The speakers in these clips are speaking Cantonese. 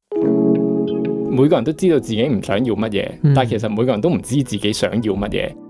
每個人都知道自己唔想要乜嘢，但係其實每個人都唔知自己想要乜嘢。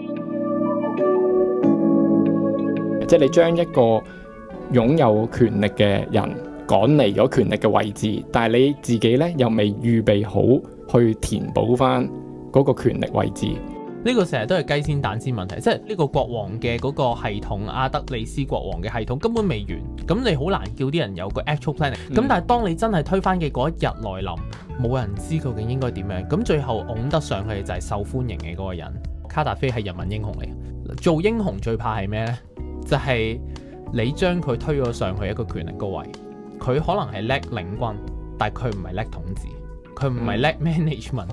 即係你將一個擁有權力嘅人趕離咗權力嘅位置，但係你自己咧又未預備好去填補翻嗰個權力位置。 呢個成日都係雞先蛋先問題，即係呢個國王嘅嗰個系統，阿德里斯國王嘅系統根本未完，咁你好難叫啲人有個 actual planning。咁但係當你真係推翻嘅嗰一日來臨，冇人知究竟應該點樣，咁最後拱得上去就係受歡迎嘅嗰個人。卡達菲係人民英雄嚟，做英雄最怕係咩呢？就係你將佢推咗上去一個權力高位，佢可能係叻領軍，但係佢唔係叻統治，佢唔係叻 management。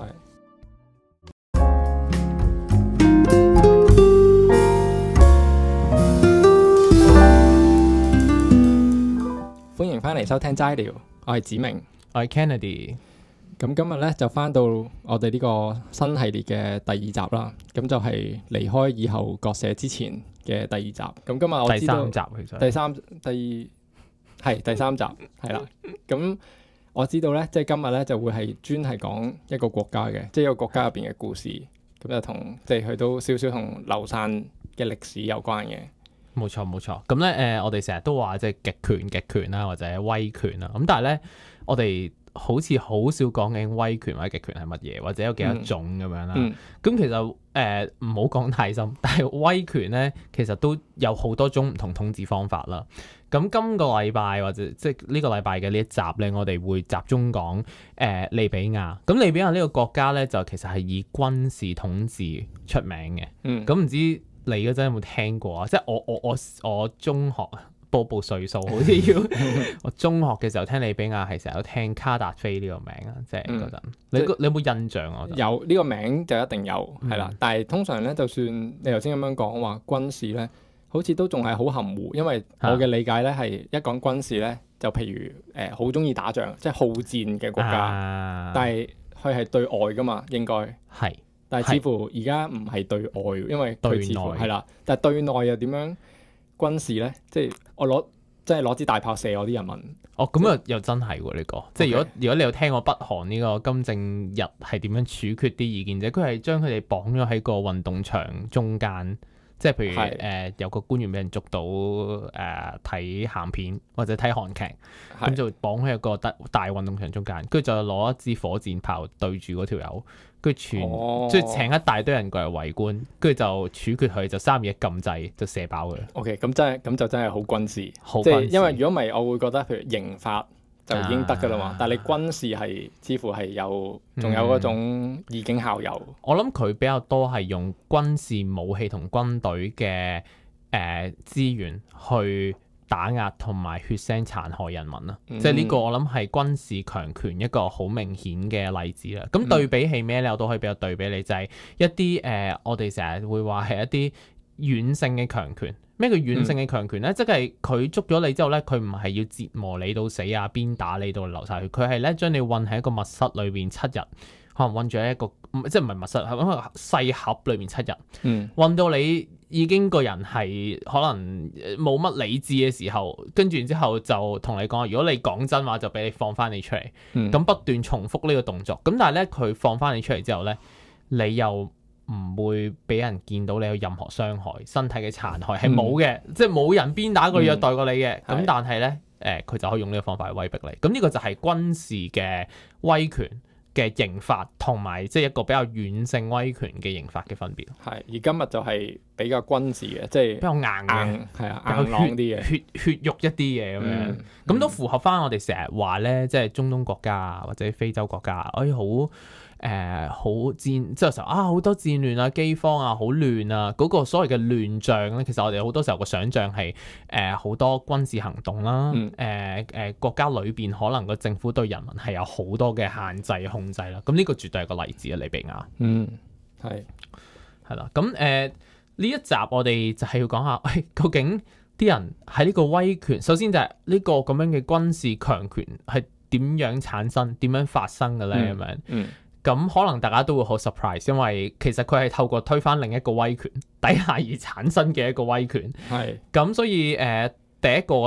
歡迎翻嚟收聽齋聊，我係子明， 我係 Kennedy。 咁今日咧就翻到我哋呢個新系列嘅第二集啦。咁就係離開以後割捨之前嘅第二集。咁今日我知道第三集其實第三集係啦。咁我知道咧，即係今日咧就會係專係講一個國家嘅，即係一個國家入邊嘅故事。咁就同即係佢都少少同流散嘅歷史有關嘅。 冇錯冇錯，咁咧我哋成日都話即係極權啦，或者威權啦，咁但係咧我哋好似好少講緊威權或者極權係乜嘢，或者有幾多種咁樣啦。咁其實唔好講太深，但係威權咧其實都有好多種唔同統治方法啦。咁今個禮拜或者即係呢個禮拜嘅呢一集咧，我哋會集中講利比亞。咁利比亞呢個國家咧就其實係以軍事統治出名嘅。咁唔知你嗰陣有冇聽過啊？即係我中學報歲數，好似要我中學嘅時候聽利比亞係成日都聽卡達菲呢個名啊，即係嗰陣。你有冇印象啊？ 有呢個名就一定有係啦，但係通常咧，就算你頭先咁樣講話軍事咧，好似都仲係好含糊，因為我嘅理解咧係一講軍事咧，就譬如好中意打仗，即係好戰嘅國家，但係佢係對外噶嘛，應該係。但係似乎而家唔係對外，因為佢似乎係啦。但係對內又點樣軍事咧？即係我攞支大炮射我啲人民。哦，咁又真係喎呢個。即係如果你有聽過北韓呢個金正日係點樣處決啲異見者，佢係將佢哋綁咗喺個運動場中間。即係譬如有個官員俾人捉到睇鹹片或者睇韓劇，咁就綁喺一個大運動場中間，跟住就攞一支火箭炮對住嗰條友，跟住即係請一大堆人過嚟圍觀，跟住就處決佢，就3嘢撳掣就射爆佢。OK， 咁就真係好軍事，即係因為如果唔係，我會覺得譬如刑法就已經得㗎啦嘛，但係你軍事係似乎係仲有嗰種以儆效尤。我諗佢比較多係用軍事武器同軍隊嘅資源去打壓同埋血腥殘害人民啦。即係呢個我諗係軍事強權一個好明顯嘅例子啦。咁對比起咩咧？我都可以比較對比你，就係一啲我哋成日會話係一啲軟性嘅強權。咩叫軟性嘅強權咧？即係佢捉咗你之後咧，佢唔係要折磨你到死啊，鞭打你到流晒血，佢係咧將你韞喺一個密室裏邊7日，可能韞住喺一個即係唔係密室，係一個細盒裏邊7日，韞到你已經個人係可能冇乜理智嘅時候，跟住之後就同你講，如果你講真話就俾你放翻你出嚟，咁不斷重複呢個動作。咁但係咧佢放翻你出嚟之後咧，你又唔會俾人見到你有任何傷害，身體嘅殘害係冇嘅，即係冇人鞭打過虐待過你嘅。咁但係咧，佢就可以用呢個方法去威逼你。咁呢個就係軍事嘅威權嘅刑法，同埋即係一個比較軟性威權嘅刑法嘅分別。係，而今日就係比較軍事嘅，即係比較硬嘅，係啊，硬朗啲嘅，血肉一啲嘅咁樣。咁都符合翻我哋成日話咧，即係中東國家或者非洲國家，好戰，即係時候好多戰亂啊、饑荒啊、好亂啊，嗰個所謂嘅亂象咧，其實我哋好多時候個想像係好多軍事行動啦，國家裏邊可能個政府對人民係有好多嘅限制控制啦。咁呢個絕對係個例子啊，利比亞。係啦。咁呢一集我哋就係要講下，究竟啲人喺呢個威權，首先就係呢個咁樣嘅軍事強權係點樣產生、點樣發生嘅咧？咁樣。咁可能大家都會好 surprise， 因為其實佢係透過推翻另一個威權底下而產生嘅一個威權。係。咁所以第一個我覺得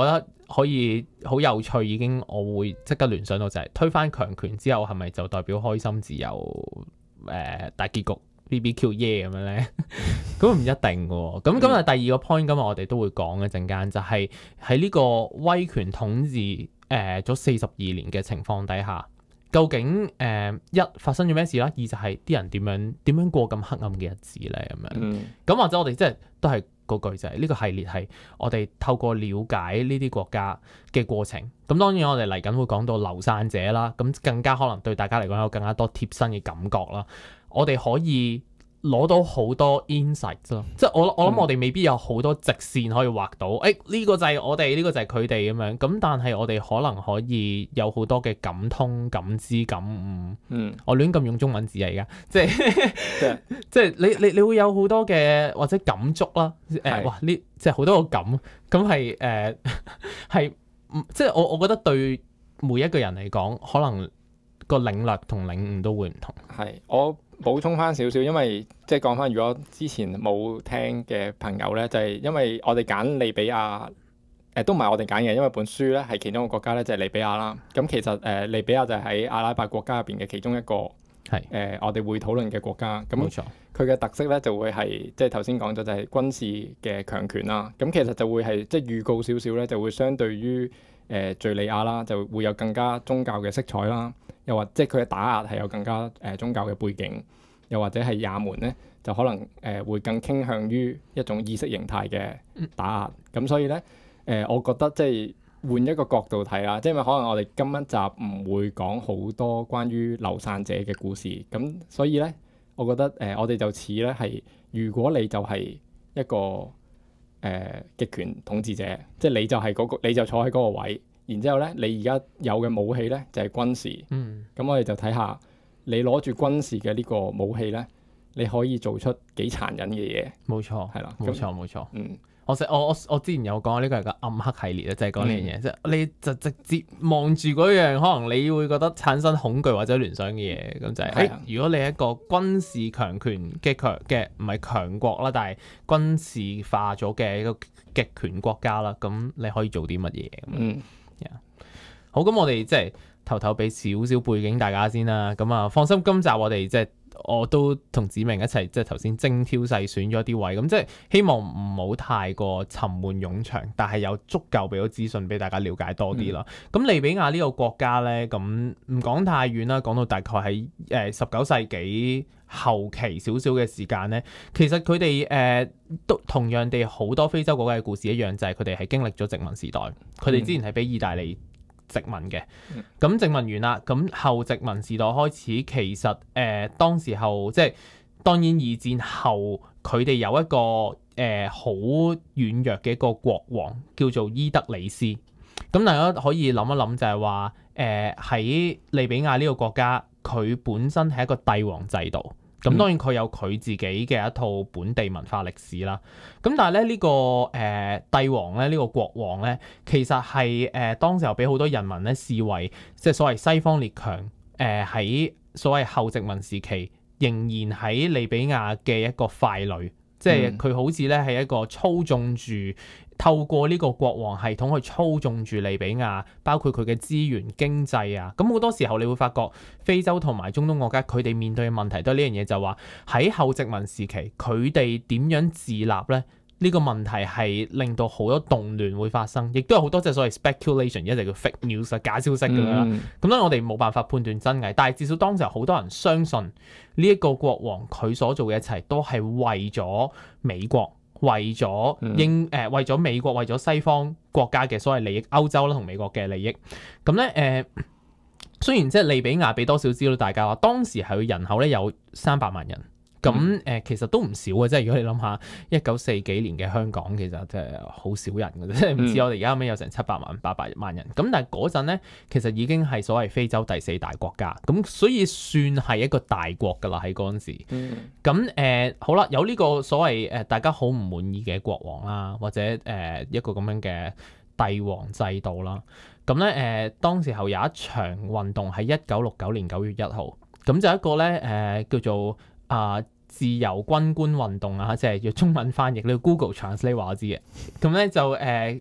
可以好有趣，已經我會即刻聯想到就係推翻強權之後，係咪就代表開心自由大結局 BBQ 耶咁樣咧？咁唔一定嘅喎。咁啊第二個 point 今日我哋都會講一陣間，就係喺呢個威權統治咗42年嘅情況底下，究竟一發生咗咩事啦？二就係啲人點樣過咁黑暗嘅日子咧？咁樣咁或者我哋即係都係嗰句就係呢個系列係我哋透過了解呢啲國家嘅過程。咁當然我哋嚟緊會講到流散者啦，咁更加可能對大家嚟講有更加多貼身嘅感覺啦。我哋可以攞到好多 insight 咯，即係我諗我哋未必有好多直線可以畫到，呢個就係我哋，呢個就係佢哋咁樣。咁但係我哋可能可以有好多嘅感通、感知、感悟。我亂咁用中文字啊，而家即係即係你會有好多嘅或者感觸啦。哇！呢即係好多個感，咁係係即係我覺得對每一個人嚟講，可能個領略同領悟都會唔同。 係我補充翻少少，因為即係講翻，如果之前冇聽嘅朋友咧，就係因為我哋揀利比亞，都唔係我哋揀嘅，因為本書咧係其中一個國家咧就係利比亞啦。咁其實利比亞就係喺阿拉伯國家入邊嘅其中一個我哋會討論嘅國家。咁冇錯，佢嘅特色咧就會係即係頭先講咗就係軍事嘅強權啦。咁其實就會係即係預告少少咧，就會相對於敍利亞啦，就會有更加宗教嘅色彩啦。又或即係佢嘅打壓係有更加宗教嘅背景，又或者係也門咧就可能會更傾向於一種意識形態嘅打壓。咁所以咧我覺得即係換一個角度睇啦，即係可能我哋今一集唔會講好多關於流散者嘅故事。咁所以咧，我覺得我哋就似咧係，如果你就係一個極權統治者，即係你就係嗰個，你就坐喺嗰個位。然之後咧，你而家有嘅武器咧就係軍事。咁我哋就睇下你攞住軍事嘅呢個武器咧，你可以做出幾殘忍嘅嘢。 冇錯，係啦，冇錯。我之前有講呢個係個暗黑系列啊，就係講呢樣嘢，即係你就直接望住嗰樣，可能你會覺得產生恐懼或者聯想嘅嘢，咁就係如果你係一個軍事強權嘅唔係強國啦，但係軍事化咗嘅一個極權國家啦，咁你可以做啲乜嘢咁？好，咁我哋即係頭頭俾少少背景大家先啦。咁啊，放心，今集我哋即係我都同梓明一齊即係頭先精挑細選咗啲位，咁即係希望唔好太過沉悶冗長，但係有足夠俾到資訊俾大家了解多啲啦。咁利比亞呢個國家咧，咁唔講太遠啦，講到大概喺19世紀後期少少嘅時間咧，其實佢哋都同樣地好多非洲國家嘅故事一樣，就係佢哋係經歷咗殖民時代，佢哋之前係俾意大利殖民嘅，咁殖民完啦，咁後殖民時代開始，其實當時候即係當然二戰後，佢哋有一個好軟弱嘅一個國王叫做伊德里斯，咁大家可以諗一諗就係話喺利比亞呢個國家，佢本身係一個帝王制度。咁當然佢有佢自己嘅一套本地文化歷史啦。咁但係咧呢個帝王咧，呢個國王咧，其實係當時候俾好多人民咧視為即係所謂西方列強喺所謂後殖民時期仍然喺利比亞嘅一個傀儡，即係佢好似咧係一個操縱住。透過呢個國王系統去操縱住利比亞，包括佢嘅資源、經濟啊，咁好多時候你會發覺非洲同埋中東國家佢哋面對嘅問題都係呢樣嘢，就係話喺後殖民時期佢哋點樣自立咧？呢個問題係令到好多動亂會發生，亦都有好多隻所謂 speculation， 一直叫 fake news 假消息咁樣啦。咁當然我哋冇辦法判斷真偽，但係至少當時好多人相信呢一個國王佢所做嘅一切都係為咗美國。為咗為咗美國，為咗西方國家嘅所謂利益，歐洲啦同美國嘅利益，咁咧雖然即係利比亞俾多少知道大家話，當時係佢人口咧有300萬人，咁其實都唔少嘅，即係如果你諗下1940幾年嘅香港，其實即係好少人嘅，即係唔似我哋而家後尾有成700萬、800萬人，咁但係嗰陣咧其實已經係所謂非洲第4大國家，咁所以算係一個大國㗎啦喺嗰陣時。咁好啦，有呢個所謂大家好唔滿意嘅國王啦，或者一個咁樣嘅帝王制度啦。咁咧當時候有一場運動喺1969年9月1號，咁就一個咧叫做自由軍官運動啊，即係要中文翻譯，你要 Google Translate 話我知嘅。咁咧就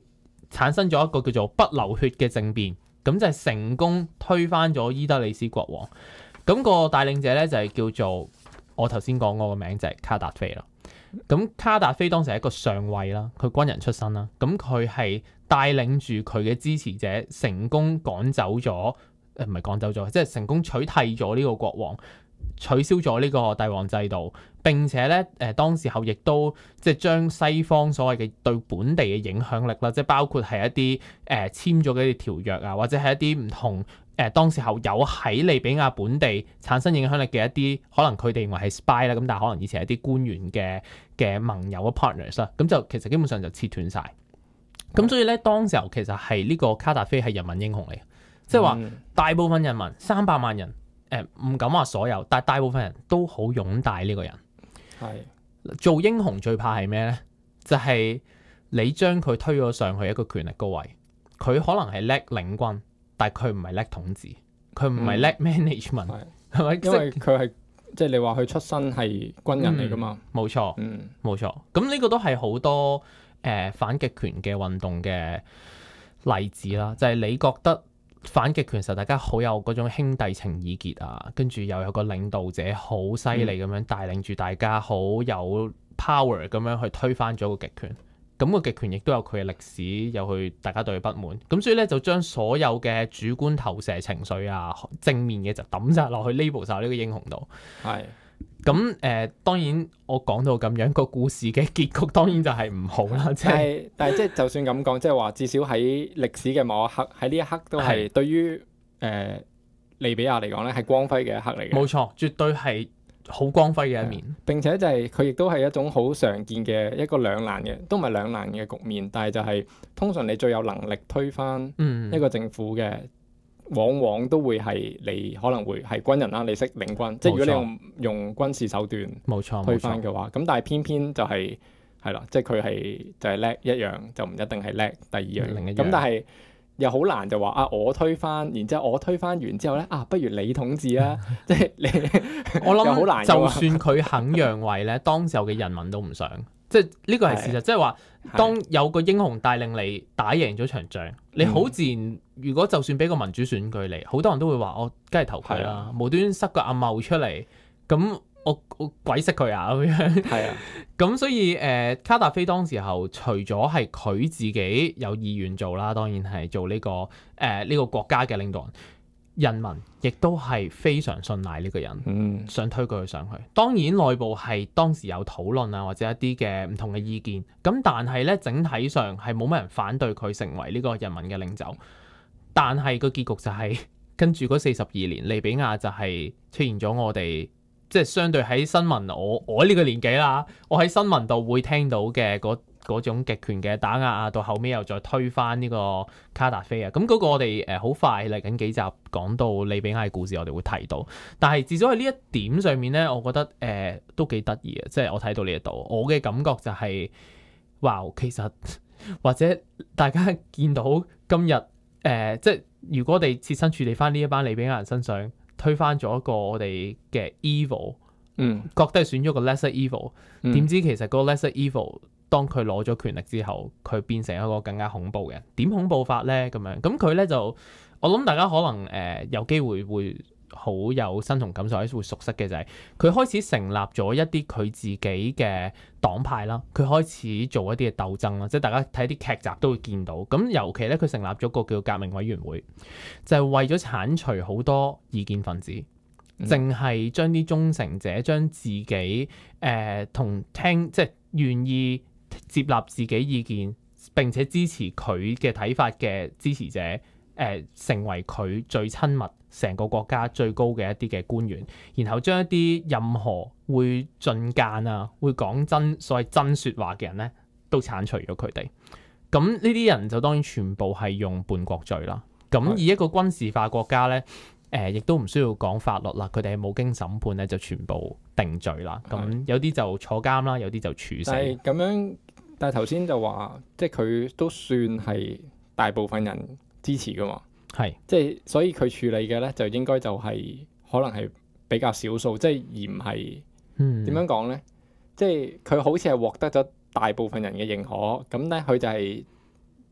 產生咗一個叫做不流血嘅政變，咁就係成功推翻咗伊德里斯國王。咁個帶領者咧就係叫做我頭先講嗰個名就係卡達菲啦。咁卡達菲當時係一個上尉啦，佢軍人出身啦。咁佢係帶領住佢嘅支持者成功趕走咗，唔係趕走咗，即係成功取締咗呢個國王，取消咗呢個帝王制度。並且咧當時候亦都即係將西方所謂嘅對本地嘅影響力啦，即係包括係一啲簽咗嘅條約啊，或者係一啲唔同。當時候有喺利比亞本地產生影響力嘅一啲，可能佢哋認為係 spy 啦，咁但係可能以前係一啲官員嘅盟友嘅 partners 啦，咁就其實基本上就切斷晒。咁所以咧，當時候其實係呢個卡達菲係人民英雄嚟嘅，即係話大部分人民300萬人，唔敢話所有，但係大部分人都好擁戴呢個人。係做英雄最怕係咩咧？就係你將佢推咗上去一個權力高位，佢可能係叻領軍。但係佢唔係叻統治，佢唔係叻 management，係咪？ 因為佢係即係你話佢出身係軍人嚟㗎嘛？ 冇錯，冇錯。咁呢個都係好多反極權嘅運動嘅例子啦。就係你覺得反極權時候大家好有嗰種兄弟情意結啊，跟住又有個領導者好犀利咁樣帶領住大家，好有 power 咁樣去推翻咗個極權。咁個極權亦都有佢嘅歷史，有佢大家對佢不滿，咁所以咧就將所有嘅主觀投射情緒啊，正面嘅就抌晒落去 label 晒呢個英雄度。係咁當然我講到咁樣個故事嘅結局，當然就係唔好啦。但係即係就算咁講，即係話至少喺歷史嘅某一刻，喺呢一刻都係對於利比亞嚟講咧係光輝嘅一刻嚟嘅。冇錯，絕對係。好光輝嘅一面，並且就係佢亦都係一種好常見嘅一個兩難嘅，都唔係兩難嘅局面，但係就係通常你最有能力推翻一個政府嘅，往往都會係你可能會係軍人啦，你識領軍，即係如果你用軍事手段推翻嘅話，咁但係偏偏就係啦，即係佢係就係叻一樣，就唔一定係叻第二樣另一樣，咁但係。又好難就話啊！我推翻，然之後我推翻完之後咧啊，不如你統治啊！即係你，我諗好難。就算佢肯讓位咧，當時候嘅人民都唔想。即係呢個係事實，即係話當有個英雄帶領你打贏咗場仗，你好自然。如果就算俾個民主選舉你，好多人都會話我梗係投佢啦，無端塞個阿茂出嚟咁。我鬼識佢啊咁樣，係啊，咁所以卡達菲當時候除咗係佢自己有意願做啦，當然係做呢個國家嘅領導人，人民亦都係非常信賴呢個人，想推佢上去。當然內部係當時有討論啊，或者一啲嘅唔同嘅意見，咁但係咧整體上係冇乜人反對佢成為呢個人民嘅領袖。但係個結局就係跟住嗰42年，利比亞就係出現咗我哋。即係相對喺新聞，我呢個年紀啦，我喺新聞度會聽到嘅嗰種極權嘅打壓啊，到後尾又再推翻呢個卡達菲啊，咁嗰個我哋好快嚟緊幾集講到利比亞嘅故事，我哋會提到。但係至少喺呢一點上面咧，我覺得都幾得意嘅，即係我睇到呢一度，我嘅感覺就係，哇，其實或者大家見到今日即係如果我哋設身處地翻呢一班利比亞人身上。推翻咗一個我哋嘅 evil，覺得係選咗個 lesser evil，點知其實嗰個 lesser evil 當佢攞咗權力之後，佢變成一個更加恐怖嘅人。點恐怖法咧？咁樣咁佢咧就，我諗大家可能有機會會好有身同感受，或者會熟悉嘅就係佢開始成立咗一啲佢自己嘅黨派啦，佢開始做一啲嘅鬥爭啦，即係大家睇啲劇集都會見到。咁尤其咧，佢成立咗個叫革命委員會，就係為咗剷除好多異見分子，淨係將啲忠誠者將自己同聽即係願意接納自己意見並且支持佢嘅睇法嘅支持者，成為佢最親密成個國家最高嘅一啲嘅官員，然後將一啲任何會進諫啊、會講所謂真説話嘅人咧，都剷除咗佢哋。咁呢啲人就當然全部係用叛國罪啦。咁以一個軍事化國家咧，亦都唔需要講法律啦，佢哋係冇經審判咧就全部定罪啦。咁有啲就坐監啦，有啲就處死。咁樣，但係頭先就話，即係佢都算係大部分人支持噶嘛。係，即係所以佢處理嘅咧，就應該就係可能係比較少數，即係而唔係點樣講咧？即係佢好似係獲得咗大部分人嘅認可，咁咧佢就係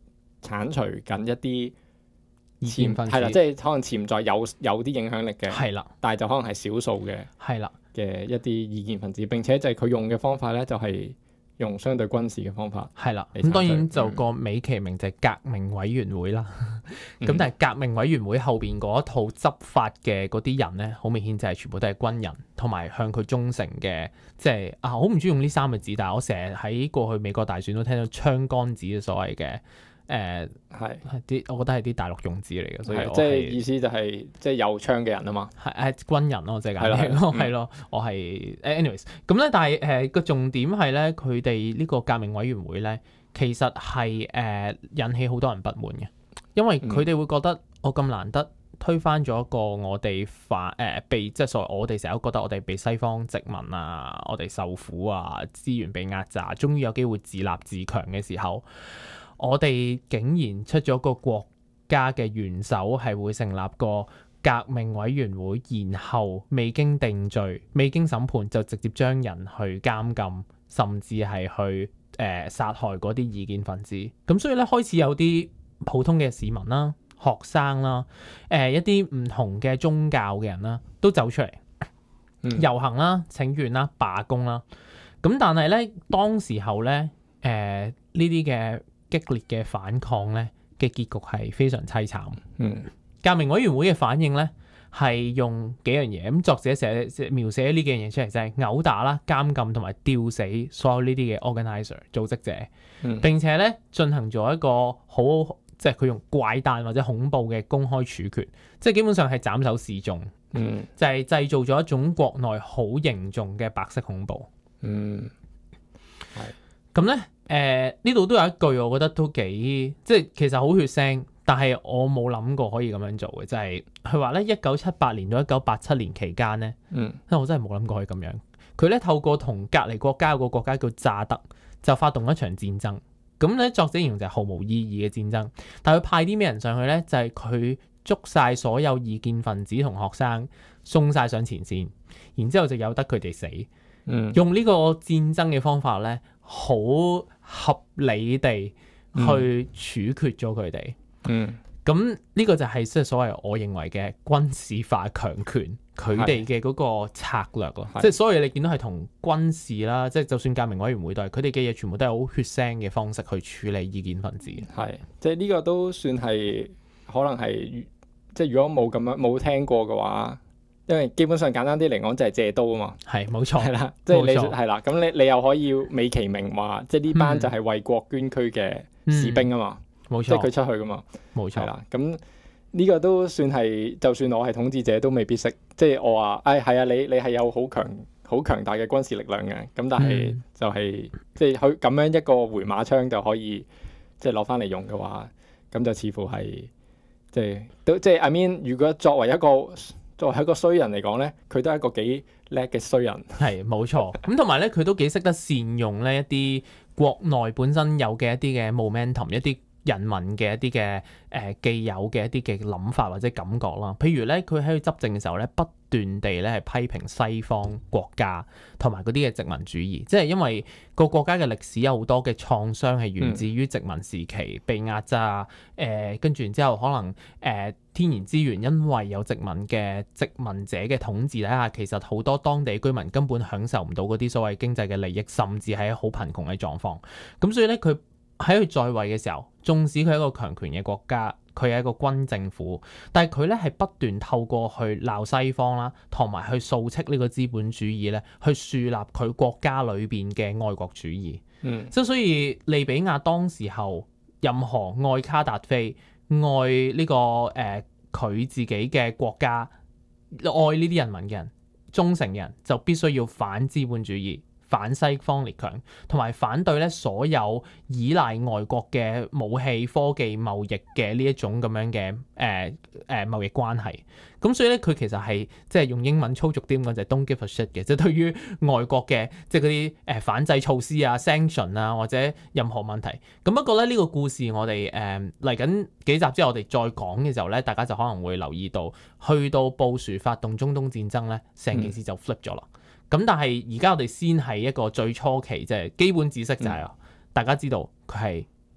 剷除緊一啲異見分子， 係啦，即係可能潛在有啲影響力嘅， 係啦， 但係就可能係少數嘅， 係啦嘅一啲異見分子，並且就係佢用嘅方法咧，就係用相對軍事嘅方法， 係啦。咁當然就個美其名就係革命委員會啦。咁但係革命委員會後邊嗰一套執法嘅嗰啲人咧，好明顯就係全部都係軍人，同埋向佢忠誠嘅，即係好唔中意用呢三個字，但係我成日喺過去美國大選都聽到槍桿子嘅所謂嘅。係啲，我覺得係啲大陸用字嚟嘅，所以即係意思就係即係有槍嘅人啊嘛， 係軍人咯，即係咁樣咯，係咯，我係 anyways 咁咧，但係個重點係咧，佢哋呢個革命委員會咧，其實係引起好多人不滿嘅，因為佢哋會覺得我咁難得推翻咗一個我哋被即係所謂我哋成日都覺得我哋被西方殖民啊，我哋受苦啊，資源被壓榨，終於有機會自立自強嘅時候。我哋竟然出咗個國家嘅元首係會成立個革命委員會，然後未經定罪、未經審判就直接將人去監禁，甚至係去殺害嗰啲異見分子。咁所以咧，開始有啲普通嘅市民啦、學生啦、一啲唔同嘅宗教嘅人啦，都走出嚟遊行啦、請願啦、罷工啦。咁但係咧，當時候咧，呢啲嘅激烈嘅反抗咧嘅結局係非常凄慘。革命委員會嘅反應咧係用幾樣嘢，咁作者描寫呢幾樣嘢出嚟，就係毆打啦、監禁同埋吊死所有呢啲嘅 organizer 組織者，並且咧進行咗一個好即係佢用怪誕或者恐怖嘅公開處決，即係基本上係斬首示眾，就係製造咗一種國內好凝重嘅白色恐怖。係咁咧。呢度都有一句，我覺得都幾即係其實好血腥，但係我冇諗過可以咁樣做嘅，就係佢話咧1978年到1987年期間咧，我真係冇諗過可以咁樣。佢咧透過同隔離國家有個國家叫乍得，就發動一場戰爭。咁咧作者形容就係毫無意義嘅戰爭，但係佢派啲咩人上去咧？就係佢捉晒所有異見分子同學生，送晒上前線，然之後就由得佢哋死。用呢個戰爭嘅方法咧，好合理地去處決咗佢哋。咁呢個就係即係所謂我認為嘅軍事化強權，佢哋嘅嗰個策略咯。即係所有嘢你見到係同軍事啦，即係就算革命委員會都係，佢哋嘅嘢全部都係好血腥嘅方式去處理異見分子。係， 即係呢個都算係可能係，即係如果冇聽過嘅話。因為基本上簡單啲嚟講就係借刀啊嘛， 係冇錯， 係啦，即係你係啦，咁你又可以美其名話，即係呢班就係為國捐軀嘅士兵啊嘛，冇錯，即係佢出去噶嘛，冇錯，係啦，咁呢個都算係，就算我係統治者都未必識，即係我話，係啊，你係有好強大嘅軍事力量嘅，咁但係就係即係佢咁樣一個回馬槍就可以即係攞翻嚟用嘅話，咁就似乎係即係 I mean， 如果作為一個衰人嚟講咧，佢都係一個幾叻嘅衰人。係冇錯，咁同埋咧，佢都幾識得善用呢一啲國內本身有嘅一啲嘅 momentum， 一啲人民嘅一啲嘅既有嘅一啲嘅諗法或者感覺啦。譬如咧，佢喺佢執政嘅時候咧，不斷地咧係批評西方國家同埋嗰啲嘅殖民主義，即係因為個國家嘅歷史有好多嘅創傷係源自於殖民時期被壓榨，跟住然之後可能天然資源因為有殖民者嘅統治底下，其實好多當地居民根本享受唔到嗰啲所謂經濟嘅利益，甚至係好貧窮嘅狀況。咁所以咧，佢喺佢在位嘅時候，縱使佢係一個強權嘅國家，佢係一個軍政府，但係佢咧係不斷透過去鬧西方啦，同埋去掃斥呢個資本主義咧，去樹立佢國家裏邊嘅愛國主義。即係所以利比亞當時候任何愛卡達菲、愛呢個佢自己嘅國家、愛呢啲人民嘅人、忠誠嘅人，就必須要反資本主義、反西方列強，同埋反對咧所有依賴外國嘅武器、科技、貿易嘅呢一種咁樣嘅貿易關係。咁所以咧，佢其實係即係用英文粗俗啲咁講，就係 don't give a shit 嘅，即係對於外國嘅即係嗰啲反制措施啊、sanction 啊或者任何問題。咁不過咧，呢個故事我哋嚟緊幾集之後我哋再講嘅時候咧，大家就可能會留意到，去到布殊發動中東戰爭咧，成件事就 flip 咗啦。咁但係而家我哋先係一個最初期，即係基本知識就係大家知道佢係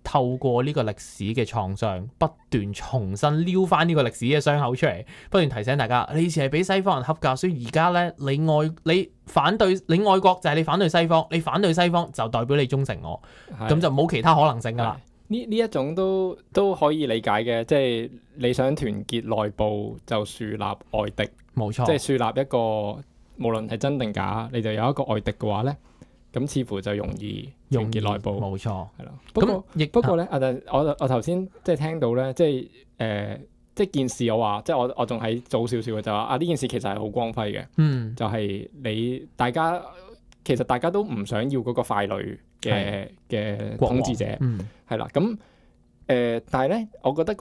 透過呢個歷史嘅創傷，不斷重新撩翻呢個歷史嘅傷口出嚟，不斷提醒大家，你以前係俾西方人恰㗎，所以而家咧你反對你愛國就係你反對西方，你反對西方就代表你忠誠我，咁就冇其他可能性㗎啦。 呢一種都可以理解嘅，即係你想團結內部就樹立外敵， 冇錯， 即係樹立一個無論係真定假，你就有一個外敵嘅話咧，咁似乎就容易團結內部， 冇錯， 係咯。不過咧，我頭先即係聽到咧，即係件事我話，即係我仲喺早少少嘅就話呢件事其實係好光輝嘅，就係其實大家都唔想要嗰個傀儡嘅統治者，係啦。咁但係咧，我覺得嗰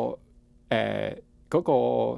個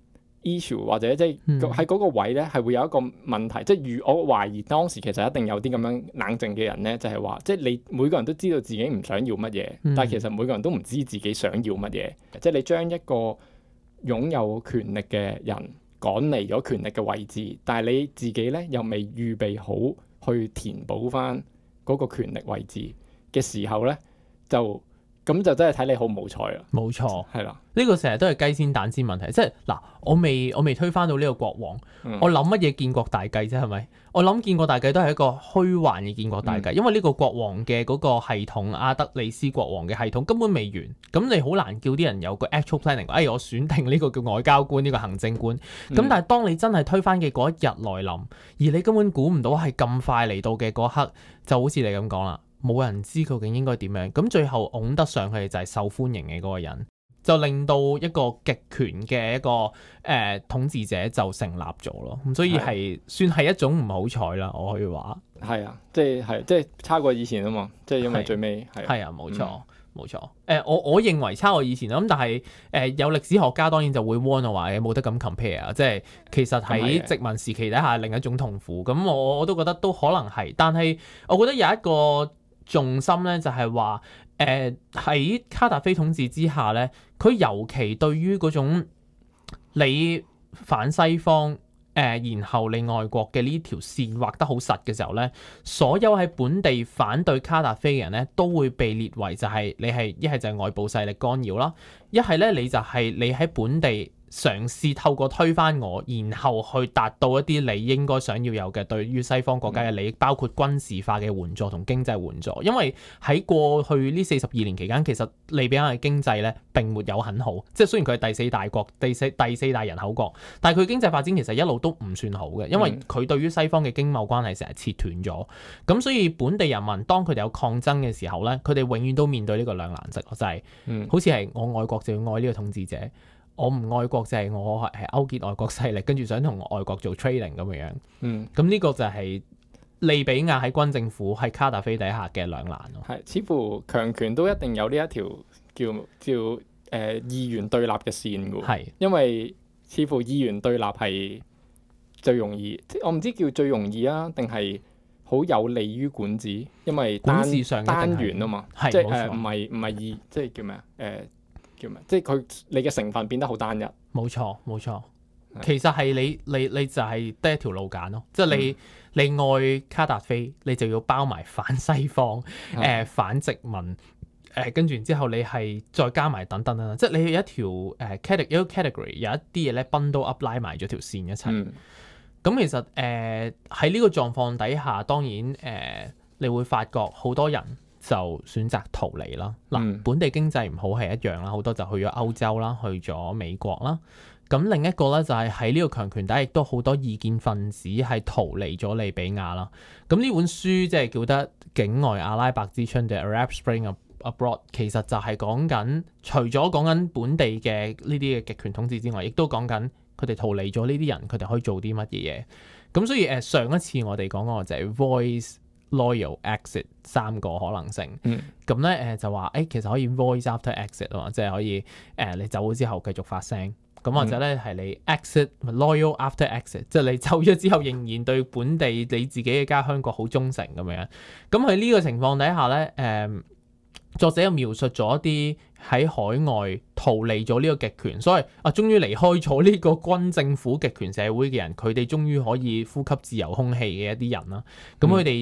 issue 或者即係喺嗰個位咧，係會有一個問題，即係我懷疑當時其實一定有啲咁樣冷靜嘅人咧，就係話，即係你每個人都知道自己唔想要乜嘢，但係其實每個人都唔知自己想要乜嘢，即係你將一個擁有權力嘅人趕離咗權力嘅位置，但係你自己咧又未預備好去填補翻嗰個權力位置嘅時候咧，咁就真係睇你好唔好彩啦。冇錯，係啦， 呢個成日都係雞先蛋先問題，即係嗱，我未推翻到呢個國王，我諗乜嘢建國大計啫，係咪？我諗建國大計都係一個虛幻嘅建國大計，因為呢個國王嘅嗰個系統，阿德里斯國王嘅系統根本未完，咁你好難叫啲人有個 actual planning，我選定呢個叫外交官，呢個行政官，咁但係當你真係推翻嘅嗰一日來臨，而你根本估唔到係咁快嚟到嘅嗰刻，就好似你咁講啦。冇人知究竟應該點樣，咁最後拱得上去就係受歡迎嘅嗰個人，就令到一個極權嘅一個統治者就成立咗咯。咁所以係算係一種唔好彩啦，我可以話。 係啊，即係差過以前啊嘛，即係因為最尾係啊，冇錯冇錯。我認為差過以前啦，咁但係有歷史學家當然就會 warn 我話冇得咁 compare 啊，即係其實喺殖民時期底下另一種痛苦。咁我都覺得都可能係，但係我覺得有一個重心咧就係話，喺卡達菲統治之下咧，佢尤其對於嗰種你反西方，然後你外國嘅呢條線畫得好實嘅時候咧，所有喺本地反對卡達菲嘅人咧，都會被列為就係你係一係就係外部勢力干擾啦，一係咧你就係你喺本地嘗試透過推翻我，然後去達到一啲你應該想要有嘅對於西方國家嘅利益，包括軍事化嘅援助同經濟援助。因為喺過去呢42年期間，其實利比亞嘅經濟咧並沒有很好，即係雖然佢係第四大國、第四大人口國，但係佢經濟發展其實一路都唔算好嘅，因為佢對於西方嘅經貿關係成日切斷咗。咁所以本地人民當佢哋有抗爭嘅時候咧，佢哋永遠都面對呢個兩難式，就係好似係我愛國就要愛呢個統治者。我唔愛國就係我係勾結外國勢力，跟住想同外國做 trading 咁樣。咁呢個就係利比亞喺軍政府喺卡達菲底下嘅兩難咯。 係，似乎強權都一定有呢一條叫二元對立嘅線㗎。係，因為似乎二元對立係最容易，即我唔知叫最容易啊，定係好有利於管治，因為單元啊嘛，即係唔係二，即係叫咩啊？即係佢你嘅成分變得好單一。冇錯， 其實係你就係得一條路揀咯，即係你愛卡達菲，你就要包埋反西方、反殖民，跟住然之後你係再加埋等等啦，即係你有一條category 有一啲嘢咧 bundle up 拉埋咗條線一齊。咁其實喺呢個狀況底下，當然你會發覺好多人就選擇逃離啦。嗱，本地經濟唔好係一樣啦，好多就去咗歐洲啦，去咗美國啦。咁另一個咧就係喺呢個強權底下，亦都好多異見分子係逃離咗利比亞啦。咁呢本書即係叫得境外阿拉伯之春嘅 Arab Spring Abroad， 其實就係講緊除咗講緊本地嘅呢啲嘅極權統治之外，亦都講緊佢哋逃離咗呢啲人，佢哋可以做啲乜嘢嘢。咁所以上一次我哋講過就係 voice loyal exit 三個可能性，咁咧就話其實可以 voice after exit 啊嘛，即係可以你走咗之後繼續發聲，咁或者咧係你 exit loyal after exit，即係你走咗之後仍然對本地你自己嘅家鄉國好忠誠咁樣。咁喺呢個情況底下咧，作者又描述咗一啲喺海外逃離咗呢個極權，所以終於離開咗呢個軍政府極權社會嘅人，佢哋終於可以呼吸自由空氣嘅一啲人啦。咁佢哋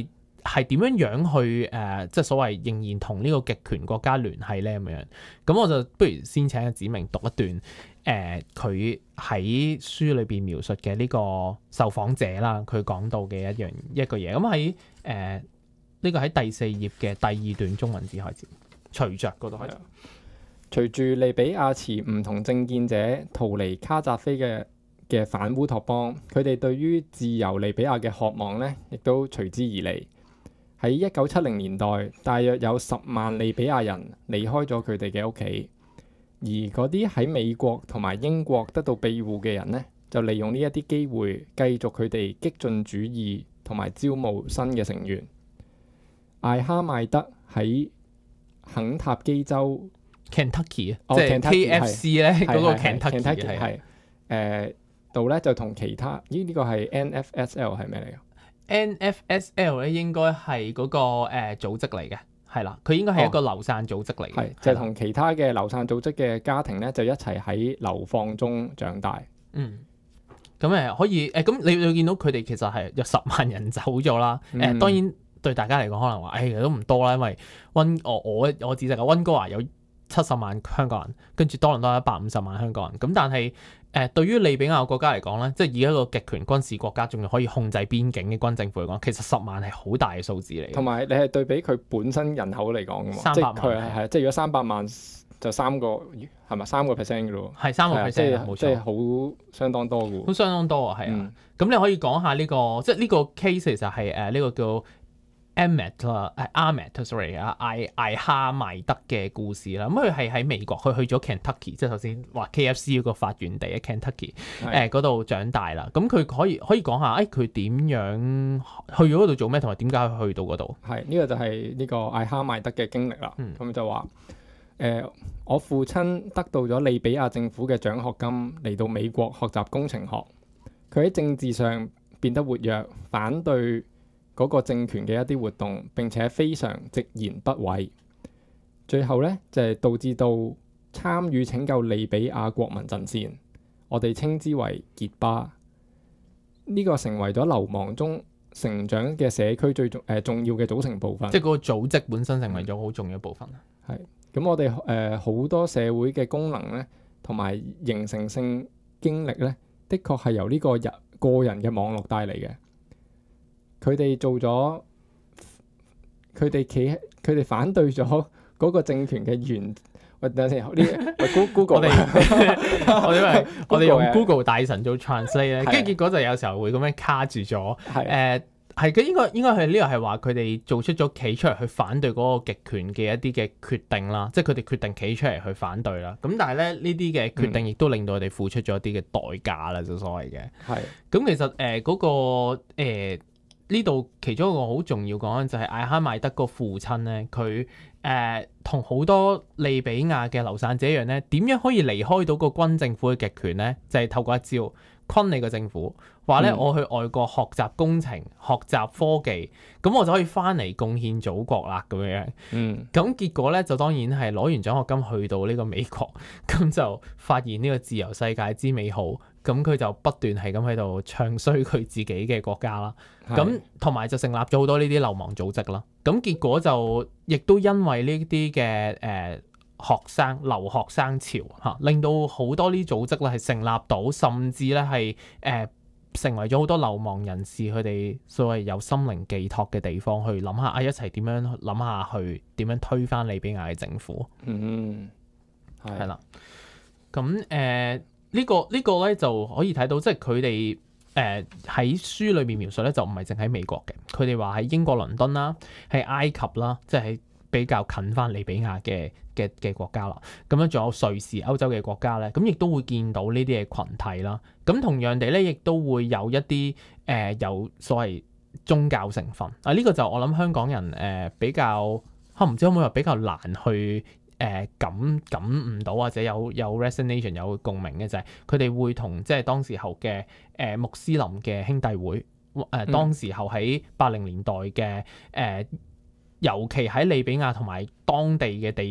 係點樣去即係所謂仍然同呢個極權國家聯繫咧咁樣？咁我就不如先請阿梓明讀一段佢喺書裏邊描述嘅呢個受訪者啦，佢講到嘅一個嘢。咁喺呢個喺第4頁嘅第2段中文字開始，隨着嗰度開始。 隨住利比亞持唔同政見者逃離卡扎菲嘅反烏托邦，佢哋對於自由利比亞嘅渴望呢，亦都隨之而嚟。喺1970年代，大約有10萬利比亞人離開咗佢哋嘅屋企，而嗰啲喺美國同埋英國得到庇護嘅人呢，就利用呢一啲機會繼續佢哋激進主義同埋招募新嘅成員。艾哈邁德喺肯塔基州 Kentucky 即係 KFC 咧嗰個 Kentucky 係度咧就同其他呢個係 NFSL 係咩嚟㗎？ NFSL 咧應該係嗰個組織嚟嘅，係啦，佢應該係一個流散組織嚟嘅， 係就同其他嘅流散組織嘅家庭咧就一齊喺流放中長大。 咁可以咁你會見到佢哋其實係有10萬人走咗啦。當然對大家嚟講可能話都唔多啦，因為我指責嘅溫哥華有70萬香港人，跟住多倫多有150萬香港人。咁但係對於利比亞國家嚟講咧，即係以一個極權軍事國家，仲要可以控制邊境嘅軍政府嚟講，其實10萬係好大嘅數字嚟。同埋你係對比佢本身人口嚟講㗎嘛 ，300萬係即係如果300萬就3%嘅%㗎咯， 係3%，冇錯， 即係好相當多㗎。 好相當多啊，係啊。咁你可以講下呢個，即係呢個 case 其實係呢個叫艾哈邁德嘅故事啦。咁佢係喺美國，佢去咗 Kentucky，即係頭先話 KFC 嗰個發源地 Kentucky 嗰度長大啦。咁佢可以講下，佢點樣去咗嗰度做咩，同埋點解去到嗰度？ 係呢個就係呢個艾哈邁德嘅經歷啦。咁就話我父親得到咗利比亞政府嘅獎學金嚟到美國學習工程學。佢喺政治上變得活躍，反對嗰個政權嘅一啲活動，並且非常直言不諱。最後咧就係導致到參與拯救利比亞國民陣線，我哋稱之為傑巴。呢個成為咗流亡中成長嘅社區最重要嘅組成部分。 即係嗰個組織本身成為咗好重要部分。 係咁，我哋好多社會嘅功能咧，同埋形成性經歷咧，的確係由呢個個人嘅網絡帶嚟嘅。佢哋反對咗嗰個政權嘅原。喂，等陣先，呢 Google 我哋用 Google 大神做 translate 咧，跟住結果就有時候會咁樣卡住咗。係嘅，應該係呢個係話佢哋做出咗企出嚟去反對嗰個極權嘅一啲嘅決定啦，即係佢哋決定企出嚟去反對啦。咁但係咧呢啲嘅決定亦都令到佢哋付出咗一啲嘅代價啦，就所謂嘅。係。咁其實嗰個呢度其中一個好重要講就係艾哈邁德個父親咧，佢同好多利比亞嘅流散者一樣咧，點樣可以離開到個軍政府嘅極權咧？就係透過一招。昆你個政府話咧，我去外國學習工程、學習科技，咁我就可以翻嚟貢獻祖國啦，咁樣。咁結果咧就當然係攞完獎學金去到呢個美國，咁就發現呢個自由世界之美好，咁佢就不斷係咁喺度唱衰佢自己嘅國家啦。咁同埋就成立咗好多呢啲流亡組織啦。咁結果就亦都因為呢啲嘅留學生潮嚇，令到好多呢組織咧係成立到，甚至咧係成為咗好多流亡人士佢哋所謂有心靈寄託嘅地方，去諗下一齊點樣諗下去點樣推翻利比亞嘅政府。係啦。咁呢個咧就可以睇到，即係佢哋喺書裏面描述咧，就唔係淨喺美國嘅，佢哋話喺英國倫敦啦，喺埃及啦，即係喺比較近翻利比亞嘅國家啦，咁樣仲有瑞士、歐洲嘅國家咧，咁亦都會見到呢啲嘅群體啦。咁同樣地咧，亦都會有一啲有所謂宗教成分啊。呢個就我諗香港人比較唔知可唔可以話比較難去感悟到，或者有 resonation 有共鳴嘅，就係佢哋會同即係當時候嘅穆斯林嘅兄弟會當時候喺80年代嘅尤其喺利比亞同埋當地嘅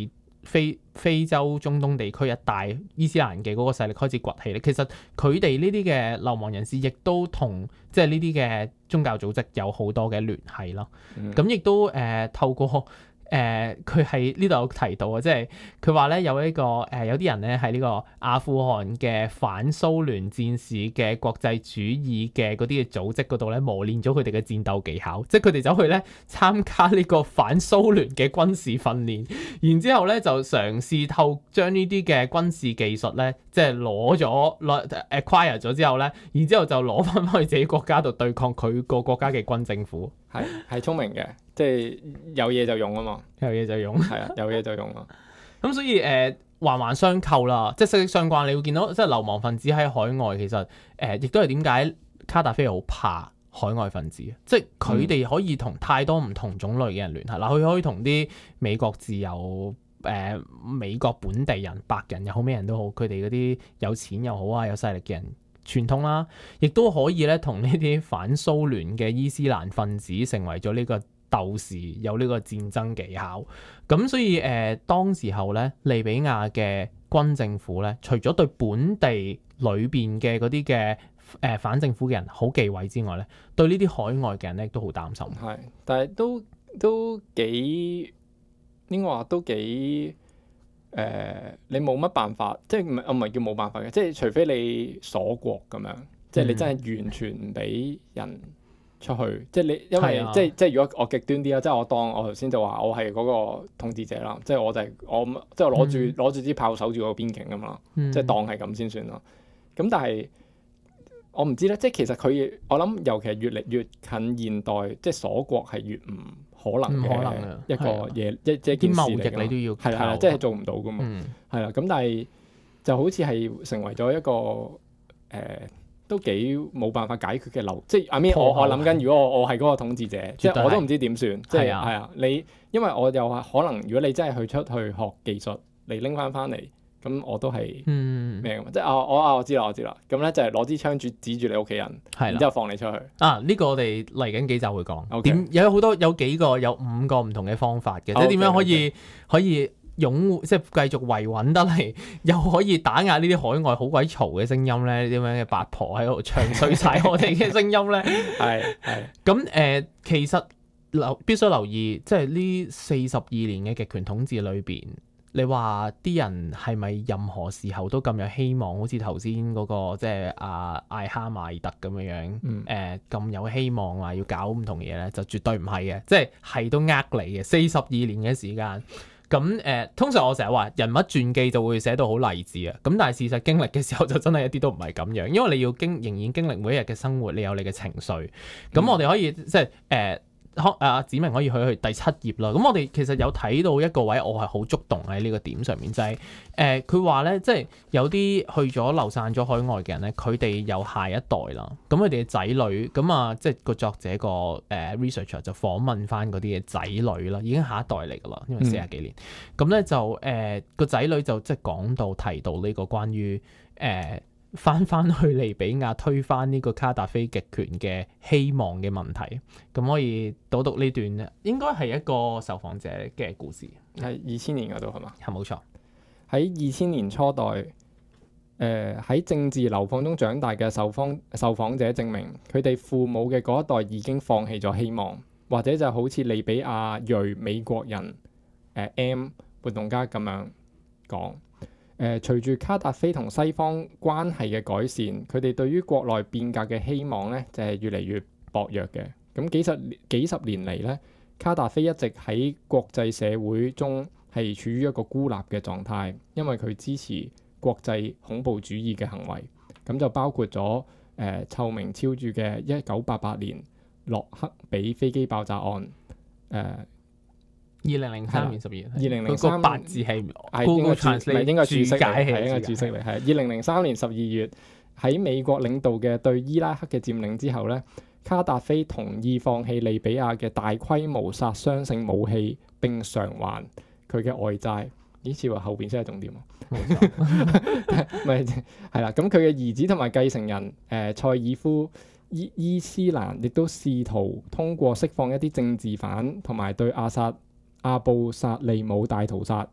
非洲中東地區一帶伊斯蘭嘅嗰個勢力開始崛起咧，其實佢哋呢啲嘅流亡人士亦都同即係呢啲嘅宗教組織有好多嘅聯繫咯。咁亦都透過佢喺呢度有提到啊，即係佢話咧有一個有啲人咧喺呢個阿富汗嘅反蘇聯戰士嘅國際主義嘅嗰啲嘅組織嗰度咧磨練咗佢哋嘅戰鬥技巧，即係佢哋走去咧參加呢個反蘇聯嘅軍事訓練，然之後咧就嘗試將呢啲嘅軍事技術咧即係攞 acquire 咗之後咧，然之後就攞翻去自己國家度對抗佢個國家嘅軍政府。 係聰明嘅，即係有嘢就用啊嘛， 有嘢就用， 係啊，有嘢就用啊。 咁所以環環相扣啦，即係息息相關。你會見到即係流亡分子喺海外，其實亦都係點解卡達菲好怕海外分子，即係佢哋可以同太多唔同種類嘅人聯繫。嗱，佢可以同啲美國自由美國本地人、白人又好，咩人都好，佢哋嗰啲有錢又好啊，有勢力嘅人。傳統啦，亦都可以咧同呢啲反蘇聯嘅伊斯蘭分子成為咗呢個鬥士，有呢個戰爭技巧。咁所以當時候咧，利比亞嘅軍政府咧，除咗對本地裏邊嘅嗰啲嘅反政府嘅人好忌諱之外咧，對呢啲海外嘅人咧都好擔心。 係，但係都幾應該話都幾。你冇乜辦法，即係唔係叫冇辦法嘅，即係除非你鎖國咁樣，即係你真係完全唔俾人出去，即係你因為即係如果我極端啲啦，即係我當我頭先就話我係嗰個統治者啦，即係我就係即係攞住支炮守住個邊境咁嘛，即係當係咁先算咯。咁但係我唔知咧，即係其實我諗尤其係越嚟越近現代，即係鎖國係越唔可能嘅一個嘢，即係件事嚟㗎。啲貿易你都要係啦，即係做唔到㗎嘛。係啦，咁但係就好似係成為咗一個都幾冇辦法解決嘅流。即係我諗緊，如果我係嗰個統治者，即係我都唔知點算。即係係啊，因為我又可能，如果你真係出去學技術，你拎翻嚟。咁我都係咩嘅嘛？即係我知啦。咁咧就係攞支槍指住你屋企人，然之後放你出去。呢個我哋嚟緊幾集會講。點有好多有5個唔同嘅方法嘅，即係點樣可以擁護，即係繼續維穩得嚟，又可以打壓呢啲海外好鬼嘈嘅聲音咧？啲咁嘅八婆喺度唱衰晒我哋嘅聲音咧？係。咁其實必須留意，即係呢42年嘅極權統治裏邊。你話啲人係咪任何時候都咁有希望？好似頭先嗰個即係艾哈邁爾特咁樣咁有希望話要搞唔同嘢咧，就絕對唔係嘅，即係都呃你嘅。42年嘅時間，咁通常我成日話人物傳記就會寫到好勵志啊，咁但係事實經歷嘅時候就真係一啲都唔係咁樣，因為你要仍然經歷每一日嘅生活，你有你嘅情緒。咁我哋可以即係子明可以去第7頁啦。咁我哋其實有睇到一個位，我係好觸動喺呢個點上面，就係佢話咧，即係有啲去咗流散咗海外嘅人咧，佢哋有下一代啦。咁佢哋嘅仔女，咁即係個作者個researcher 就訪問翻嗰啲嘅仔女啦，已經下一代嚟噶啦，因為40幾年。咁咧就個仔女就即係講到提到呢個關於翻去利比亞推翻呢個卡達菲極權嘅希望嘅問題，咁可以讀呢段咧，應該係一個受訪者嘅故事， 係2000年嗰度係嘛？ 係冇錯。 喺2000年初代，喺政治流放中長大嘅受訪者證明，佢哋父母嘅嗰一代已經放棄咗希望，或者就好似利比亞裔美國人M 活動家咁樣講。隨住卡達菲同西方關係嘅改善，佢哋對於國內變革嘅希望咧，就係越嚟越薄弱嘅。咁幾十年嚟咧，卡達菲一直喺國際社會中係處於一個孤立嘅狀態，因為佢支持國際恐怖主義嘅行為。咁就包括咗臭名昭著嘅1988年洛克比飛機爆炸案。 2003年12月 ，2003 嗰個八字係應該注釋嚟， 係應該注釋嚟。係2003年12月喺美國領導嘅對伊拉克嘅佔領之後咧，卡達菲同意放棄利比亞嘅大規模殺傷性武器，並償還佢嘅外債。呢次話後邊先係重點喎，咪係啦。咁佢嘅兒子同埋繼承人塞爾夫伊斯蘭亦都試圖通過釋放一啲政治犯同埋對阿布薩利姆大屠殺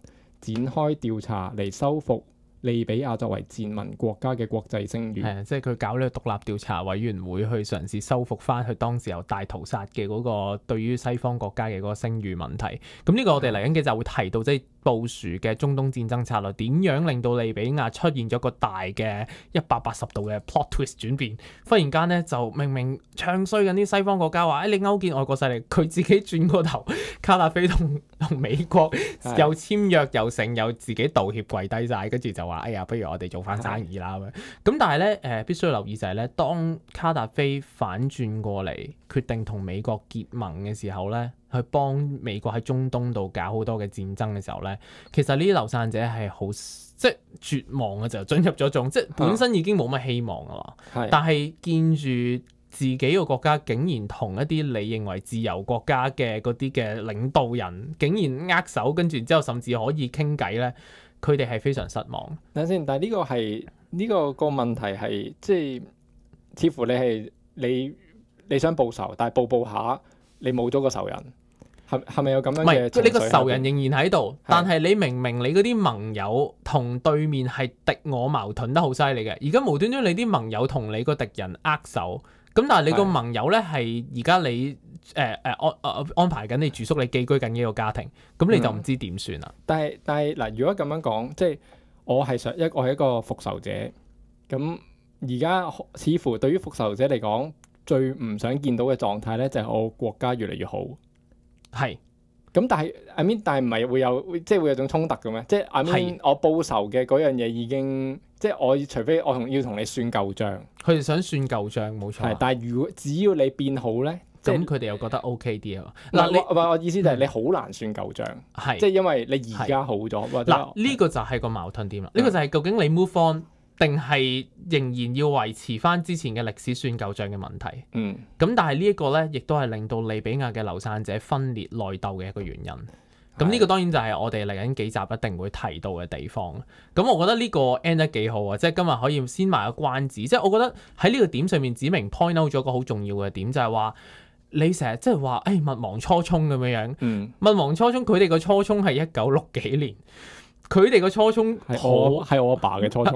展開調查嚟修復利比亞作為賤民國家嘅國際聲譽。 係啊，即係佢搞呢個獨立調查委員會去嘗試修復翻佢當時候大屠殺嘅嗰個對於西方國家嘅嗰個聲譽問題。咁呢個我哋嚟緊幾集會提到，即係部署嘅中東戰爭策略點樣令到利比亞出現咗個大嘅180度嘅 plot twist 轉變。忽然間咧就明明唱衰緊啲西方國家話，你勾結外國勢力，佢自己轉個頭，卡達菲同美國又簽約又成又自己道歉跪低晒，跟住就話哎呀，不如我哋做翻生意啦咁樣。咁但係咧必須要留意就係咧，當卡達菲反轉過嚟決定同美國結盟嘅時候咧，去幫美國喺中東度搞好多嘅戰爭嘅時候咧，其實呢啲流散者係好即係絕望嘅，就進入咗種即係本身已經冇乜希望噶啦。但係見住自己個國家竟然同一啲你認為自由國家嘅嗰啲嘅領導人竟然握手，跟住之後甚至可以傾偈咧，佢哋係非常失望。 等先，但係呢個個問題係即係似乎你想報仇，但係報下你冇咗個仇人。係咪有咁樣嘅？ 即係呢個仇人仍然喺度，但係你明你嗰啲盟友同對面係敵我矛盾得好犀利嘅。而家無端端你啲盟友同你個敵人握手，咁但係你個盟友咧係而家你安排緊你住宿，你寄居緊呢個家庭，咁你就唔知點算啦。 但係嗱，如果咁樣講，即係我係一個復仇者，咁而家似乎對於復仇者嚟講，最唔想見到嘅狀態咧，就係我國家越嚟越好。係，咁但係但係唔係會有種衝突嘅咩？即係我報仇嘅嗰樣嘢已經，即係我除非我要同你算舊賬， 佢哋想算舊賬冇錯。 但係只要你變好咧， 咁佢哋又覺得 OK 啲啊。 嗱，我意思就係你好難算舊賬，即係因為你而家好咗。 嗱，呢個就係個矛盾點啦。呢個就係究竟你 move on，定係仍然要維持翻之前嘅歷史算舊賬嘅問題。咁但係呢一個咧，亦都係令到利比亞嘅流散者分裂內鬥嘅一個原因。咁呢個當然就係我哋嚟緊幾集一定會提到嘅地方。咁我覺得呢個 end 得幾好啊！即係今日可以先賣個關子。即係我覺得喺呢個點上面，指明 point out 咗個好重要嘅點，就係話你成日即係話勿忘初衷咁樣樣。勿忘初衷，佢哋個初衷係1960幾年。佢哋個初衷係我阿爸嘅初衷，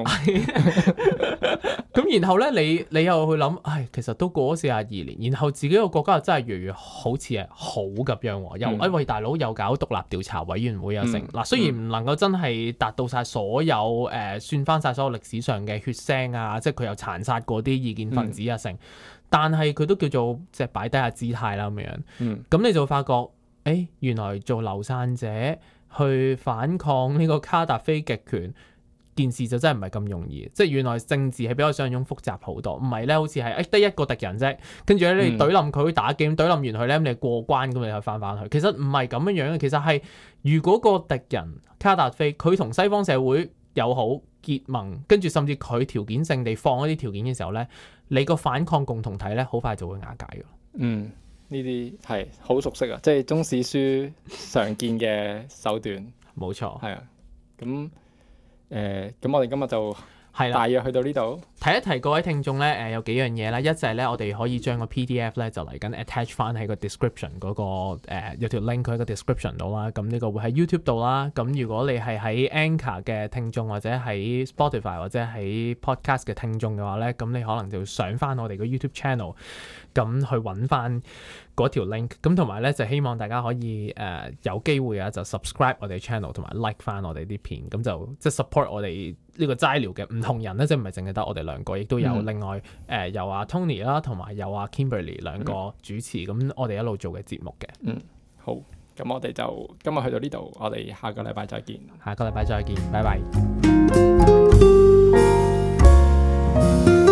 咁然後咧，你又去諗，其實都過咗42年，然後自己個國家又真係越嚟越好似係好咁樣，又喂大佬又搞獨立調查委員會啊成，嗱雖然唔能夠真係達到晒所有算翻晒所有歷史上嘅血腥啊，即係佢又殘殺過啲異見分子啊成，但係佢都叫做即係擺低下姿態啦咁樣，咁你就發覺，原來做流散者去反抗呢個卡達菲極權，件事就真係唔係咁容易。即係原來政治係比我想象中複雜好多，唔係咧好似係得一個敵人啫，跟住咧你懟冧佢打機，懟冧完佢咧你過關咁你就翻返去。其實唔係咁樣樣嘅，其實係如果個敵人卡達菲佢同西方社會友好結盟，跟住甚至佢條件性地放一啲條件嘅時候咧，你個反抗共同體咧好快就會瓦解㗎。 呢啲係好熟悉啊，即係中史書常見嘅手段。 冇錯， 係啊。咁我哋今日就大約去到呢度。 提一提各位聽眾咧，有幾樣嘢啦。一就係咧，我哋可以將個 PDF 咧就嚟緊 attach 翻喺個 description 嗰個有條 link 喺個 description 度啦。咁呢個會喺 YouTube 度啦。咁如果你係喺 Anchor 嘅聽眾或者喺 Spotify 或者喺 Podcast 嘅聽眾嘅話咧，咁你可能就要上翻我哋個 YouTube channel。咁去揾翻嗰條 link，咁同埋咧就希望大家可以有機會啊就 subscribe 我哋 channel 同埋 like 翻我哋啲片，咁就即係 support 我哋呢個齋聊嘅唔同人咧，即係唔係淨係得我哋兩個，亦都有另外有阿 Tony 啦，同埋有阿 Kimberly 兩個主持，咁我哋一路做嘅節目嘅。 好，咁我哋就今日去到呢度，我哋下個禮拜再見。 下個禮拜再見，拜拜。